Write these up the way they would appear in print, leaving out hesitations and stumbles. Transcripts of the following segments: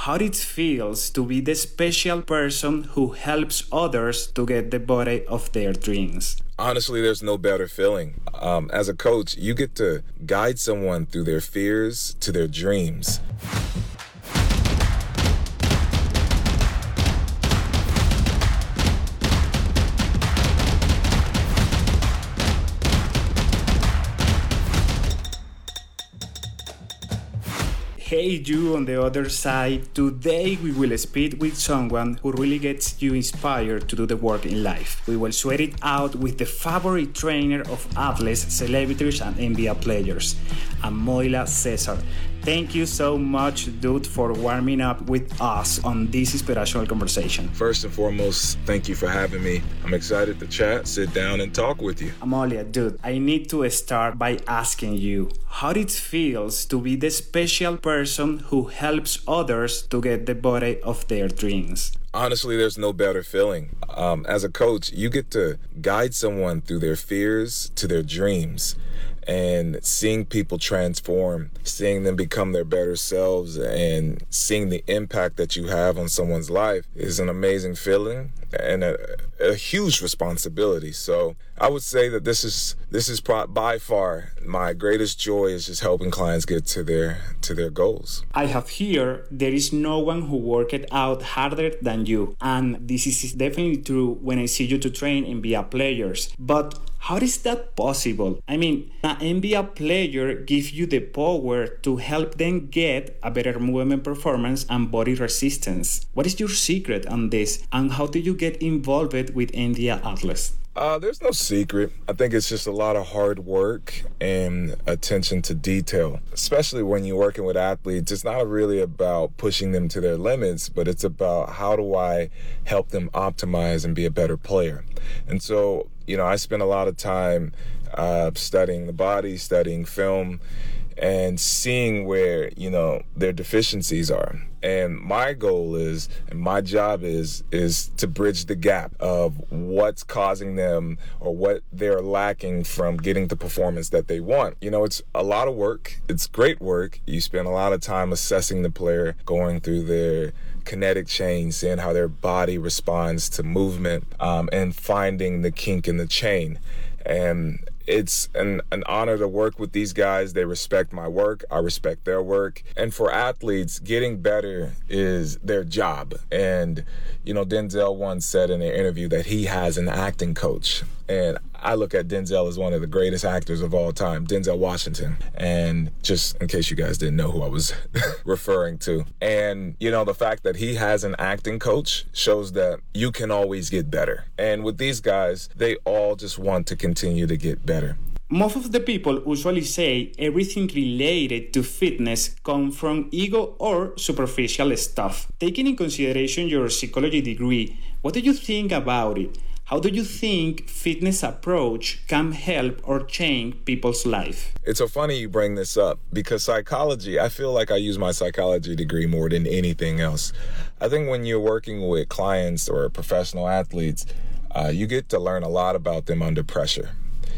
how it feels to be the special person who helps others to get the body of their dreams. Honestly, there's no better feeling. As a coach, you get to guide someone through their fears to their dreams. Hey, you on the other side. Today we will speak with someone who really gets you inspired to do the work in life. We will sweat it out with the favorite trainer of athletes, celebrities, and NBA players, Amoila Cesar. Thank you so much, dude, for warming up with us on this inspirational conversation. First and foremost, thank you for having me. I'm excited to chat, sit down, and talk with you. Amoila, dude, I need to start by asking you how it feels to be the special person who helps others to get the body of their dreams. Honestly, there's no better feeling. As a coach, you get to guide someone through their fears to their dreams. And seeing people transform, seeing them become their better selves, and seeing the impact that you have on someone's life is an amazing feeling and a huge responsibility. So I would say that this is by far my greatest joy is just helping clients get to their goals. I have here there is no one who worked out harder than you, and this is definitely true when I see you to train NBA players. But how is that possible? I mean, an NBA player gives you the power to help them get a better movement performance and body resistance. What is your secret on this, and how do you get involved with NBA athletes? There's no secret. I think it's just a lot of hard work and attention to detail. Especially when you're working with athletes, it's not really about pushing them to their limits, but it's about how do I help them optimize and be a better player. And so, I spend a lot of time studying the body, studying film, and seeing where, their deficiencies are. And my goal is, and my job is to bridge the gap of what's causing them or what they're lacking from getting the performance that they want. It's a lot of work. It's great work. You spend a lot of time assessing the player, going through their kinetic chain, seeing how their body responds to movement, and finding the kink in the chain. And it's an honor to work with these guys. They respect my work. I respect their work. And for athletes, getting better is their job. And, Denzel once said in an interview that he has an acting coach. And I look at Denzel as one of the greatest actors of all time, Denzel Washington. And just in case you guys didn't know who I was referring to. And, the fact that he has an acting coach shows that you can always get better. And with these guys, they all just want to continue to get better. Most of the people usually say everything related to fitness comes from ego or superficial stuff. Taking in consideration your psychology degree, what do you think about it? How do you think fitness approach can help or change people's life? It's so funny you bring this up because psychology, I feel like I use my psychology degree more than anything else. I think when you're working with clients or professional athletes, you get to learn a lot about them under pressure.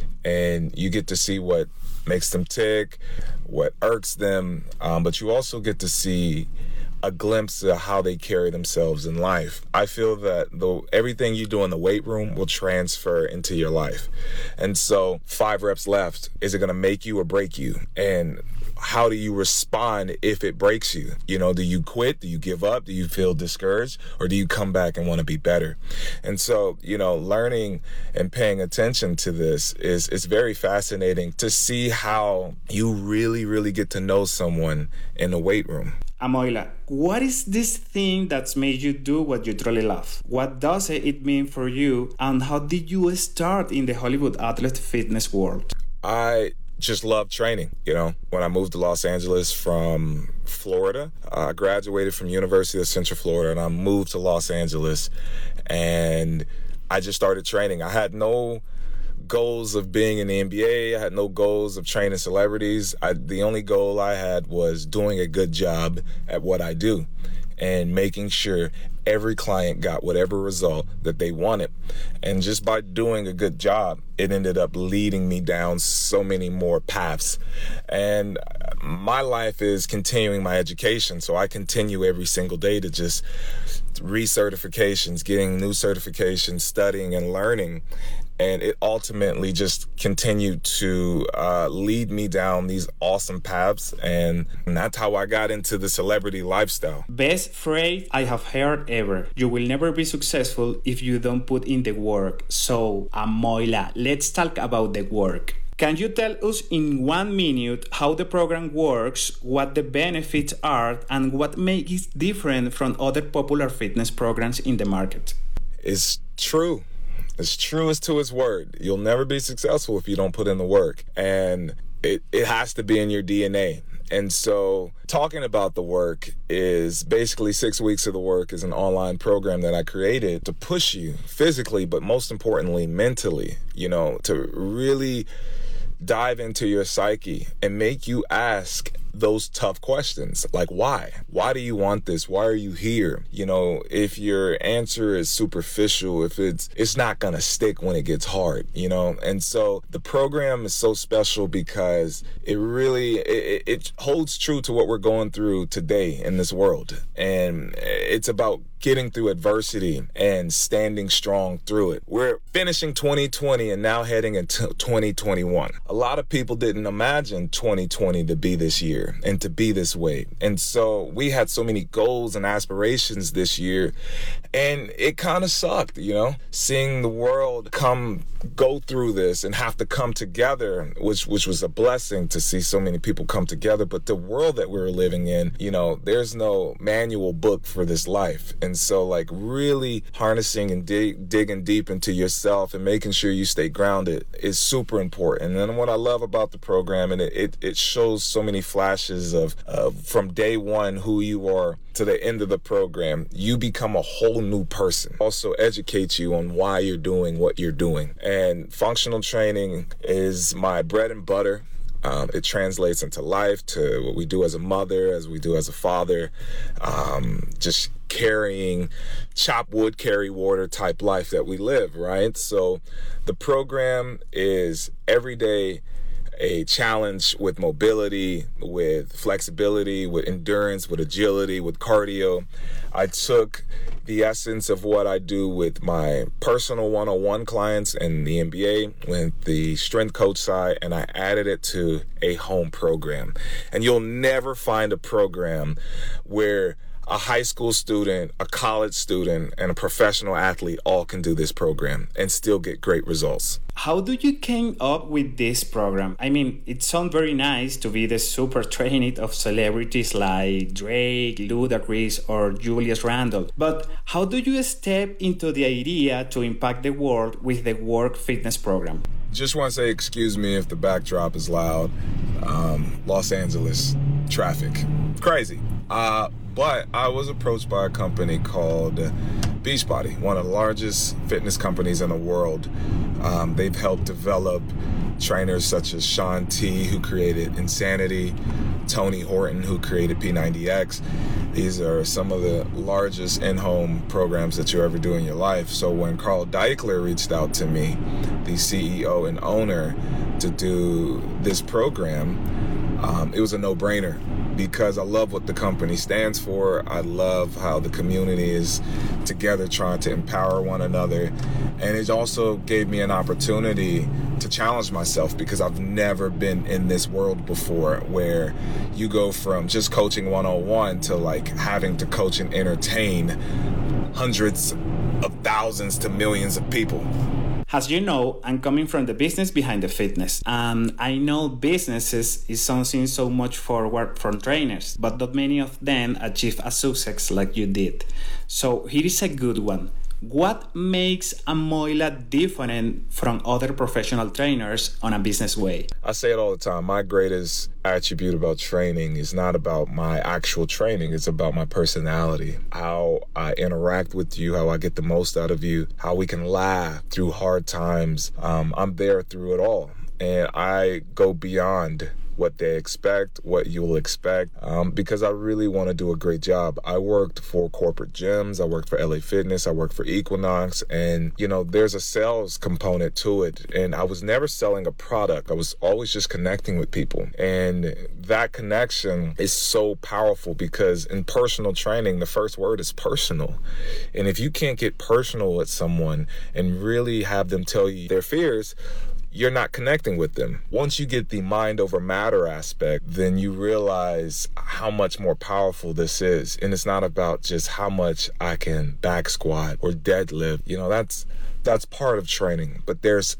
And you get to see what makes them tick, what irks them, but you also get to see a glimpse of how they carry themselves in life. I feel that everything you do in the weight room will transfer into your life. And so 5 reps left, is it going to make you or break you? And how do you respond if it breaks you? Do you quit? Do you give up? Do you feel discouraged? Or do you come back and want to be better? And so, learning and paying attention to this is very fascinating to see how you really, really get to know someone in the weight room. Amoila, what is this thing that's made you do what you truly love? What does it mean for you? And how did you start in the Hollywood athlete fitness world? I just love training. When I moved to Los Angeles from Florida, I graduated from University of Central Florida and I moved to Los Angeles and I just started training. I had no goals of being in the NBA. I had no goals of training celebrities. The only goal I had was doing a good job at what I do and making sure every client got whatever result that they wanted. And just by doing a good job, it ended up leading me down so many more paths. And my life is continuing my education. So I continue every single day to just recertifications, getting new certifications, studying and learning. And it ultimately just continued to lead me down these awesome paths. And that's how I got into the celebrity lifestyle. Best phrase I have heard ever. You will never be successful if you don't put in the work. So, Amoila, let's talk about the work. Can you tell us in 1 minute how the program works, what the benefits are, and what makes it different from other popular fitness programs in the market? It's true. As true as to its word. You'll never be successful if you don't put in the work. And it has to be in your DNA. And so talking about the work is basically 6 weeks of the work is an online program that I created to push you physically, but most importantly, mentally, to really dive into your psyche and make you ask those tough questions like why do you want this? Why are you here? If your answer is superficial, if it's not gonna stick when it gets hard, and so the program is so special because it really it holds true to what we're going through today in this world, and it's about getting through adversity and standing strong through it. We're finishing 2020 and now heading into 2021. A lot of people didn't imagine 2020 to be this year and to be this way. And so we had so many goals and aspirations this year, and it kind of sucked, seeing the world go through this and have to come together, which was a blessing to see so many people come together. But the world that we're living in, there's no manual book for this life. And so really harnessing and digging deep into yourself and making sure you stay grounded is super important. And then what I love about the program, and it shows so many flashes of from day one who you are to the end of the program, you become a whole new person. Also educates you on why you're doing what you're doing. And functional training is my bread and butter. It translates into life, to what we do as a mother, as we do as a father, just carrying chop wood, carry water type life that we live, right? So the program is every day a challenge with mobility, with flexibility, with endurance, with agility, with cardio. I took the essence of what I do with my personal one-on-one clients and the NBA with the strength coach side, and I added it to a home program. And you'll never find a program where a high school student, a college student, and a professional athlete all can do this program and still get great results. How do you came up with this program? I mean, it sounds very nice to be the super trained of celebrities like Drake, Ludacris, or Julius Randle. But how do you step into the idea to impact the world with the Work Fitness program? Just want to say excuse me if the backdrop is loud. Los Angeles traffic. Crazy. But I was approached by a company called Beachbody, one of the largest fitness companies in the world. They've helped develop trainers such as Shaun T, who created Insanity, Tony Horton, who created P90X. These are some of the largest in-home programs that you ever do in your life. So when Carl Daikeler reached out to me, the CEO and owner, to do this program, it was a no-brainer because I love what the company stands for. I love how the community is together trying to empower one another. And it also gave me an opportunity to challenge myself because I've never been in this world before where you go from just coaching one-on-one to having to coach and entertain hundreds of thousands to millions of people. As you know, I'm coming from the business behind the fitness, and I know businesses is something so much forward from trainers, but not many of them achieve a success like you did. So here is a good one. What makes Amoila different from other professional trainers on a business way? I say it all the time. My greatest attribute about training is not about my actual training. It's about my personality, how I interact with you, how I get the most out of you, how we can laugh through hard times. I'm there through it all. And I go beyond what they expect, what you'll expect, because I really want to do a great job. I worked for corporate gyms, I worked for LA Fitness, I worked for Equinox, and there's a sales component to it. And I was never selling a product. I was always just connecting with people. And that connection is so powerful because in personal training, the first word is personal. And if you can't get personal with someone and really have them tell you their fears, you're not connecting with them. Once you get the mind over matter aspect, then you realize how much more powerful this is. And it's not about just how much I can back squat or deadlift. That's part of training, but there's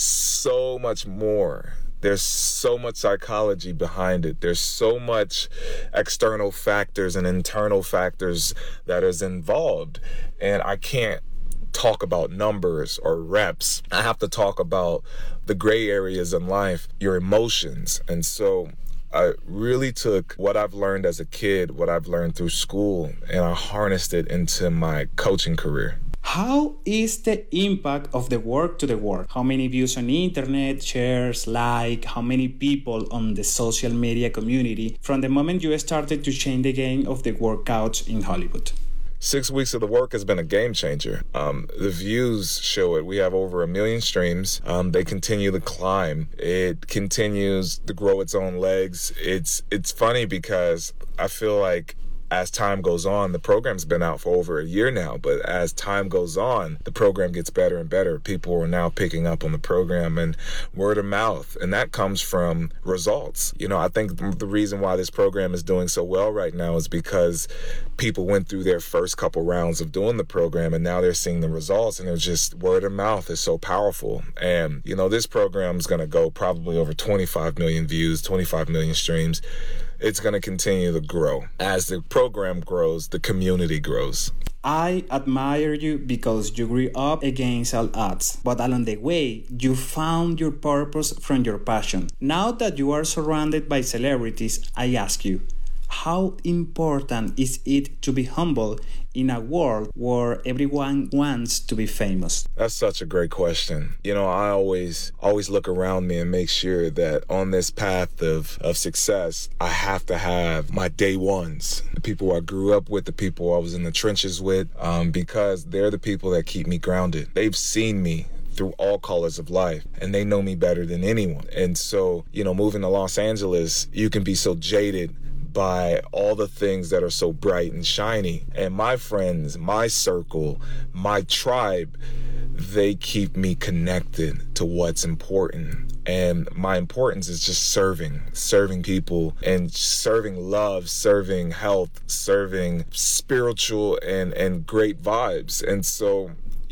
so much more. There's so much psychology behind it. There's so much external factors and internal factors that is involved. And I can't talk about numbers or reps. I have to talk about the gray areas in life, your emotions. And so I really took what I've learned as a kid, what I've learned through school, and I harnessed it into my coaching career. How is the impact of the work to the work? How many views on internet, shares, how many people on the social media community from the moment you started to change the game of the workouts in Hollywood? 6 weeks of the work has been a game changer. The views show it. We have over 1 million streams. They continue to climb. It continues to grow its own legs. It's funny because I feel like as time goes on, the program's been out for over a year now, but as time goes on, the program gets better and better. People are now picking up on the program and word of mouth, and that comes from results. I think the reason why this program is doing so well right now is because people went through their first couple rounds of doing the program, and now they're seeing the results, and they're just word of mouth is so powerful. And, this program is going to go probably over 25 million views, 25 million streams. It's going to continue to grow. As the program grows, the community grows. I admire you because you grew up against all odds, but along the way, you found your purpose from your passion. Now that you are surrounded by celebrities, I ask you, how important is it to be humble in a world where everyone wants to be famous? That's such a great question. I always look around me and make sure that on this path of success, I have to have my day ones, the people I grew up with, the people I was in the trenches with, because they're the people that keep me grounded. They've seen me through all colors of life, and they know me better than anyone. And so, moving to Los Angeles, you can be so jaded by all the things that are so bright and shiny. And my friends, my circle, my tribe, they keep me connected to what's important. And my importance is just serving people and serving love, serving health, serving spiritual and great vibes. And so,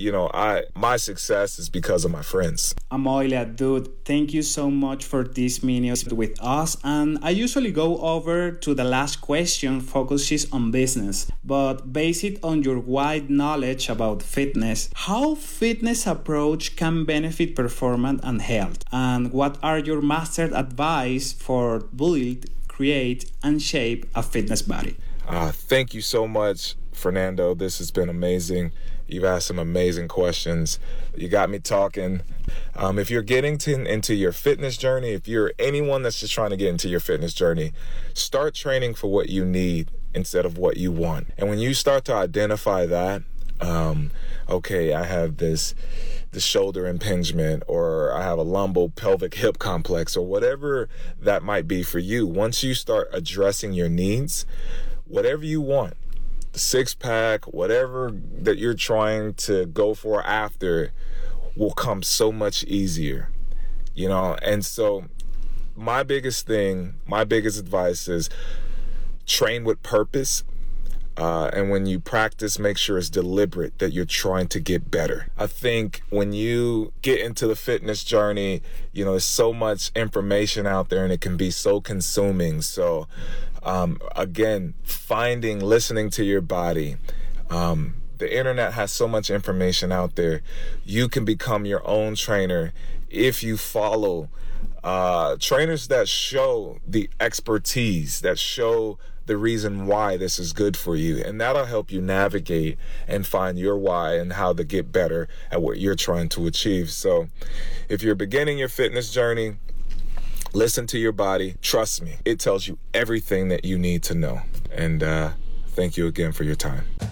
my success is because of my friends. Amoylia, dude, thank you so much for this minute with us. And I usually go over to the last question, focuses on business, but based on your wide knowledge about fitness, how fitness approach can benefit performance and health? And what are your master advice for build, create, and shape a fitness body? Thank you so much, Fernando. This has been amazing. You've asked some amazing questions. You got me talking. If you're getting into your fitness journey, if you're anyone that's just trying to get into your fitness journey, start training for what you need instead of what you want. And when you start to identify that, I have this shoulder impingement, or I have a lumbo-pelvic hip complex, or whatever that might be for you. Once you start addressing your needs, whatever you want, the six-pack, whatever that you're trying to go for after will come so much easier, And so my biggest advice is train with purpose. And when you practice, make sure it's deliberate, that you're trying to get better. I think when you get into the fitness journey, there's so much information out there and it can be so consuming. So, again, listening to your body. The internet has so much information out there. You can become your own trainer if you follow trainers that show the expertise, that show the reason why this is good for you. And that'll help you navigate and find your why and how to get better at what you're trying to achieve. So if you're beginning your fitness journey, Listen to your body. Trust me, it tells you everything that you need to know. And thank you again for your time.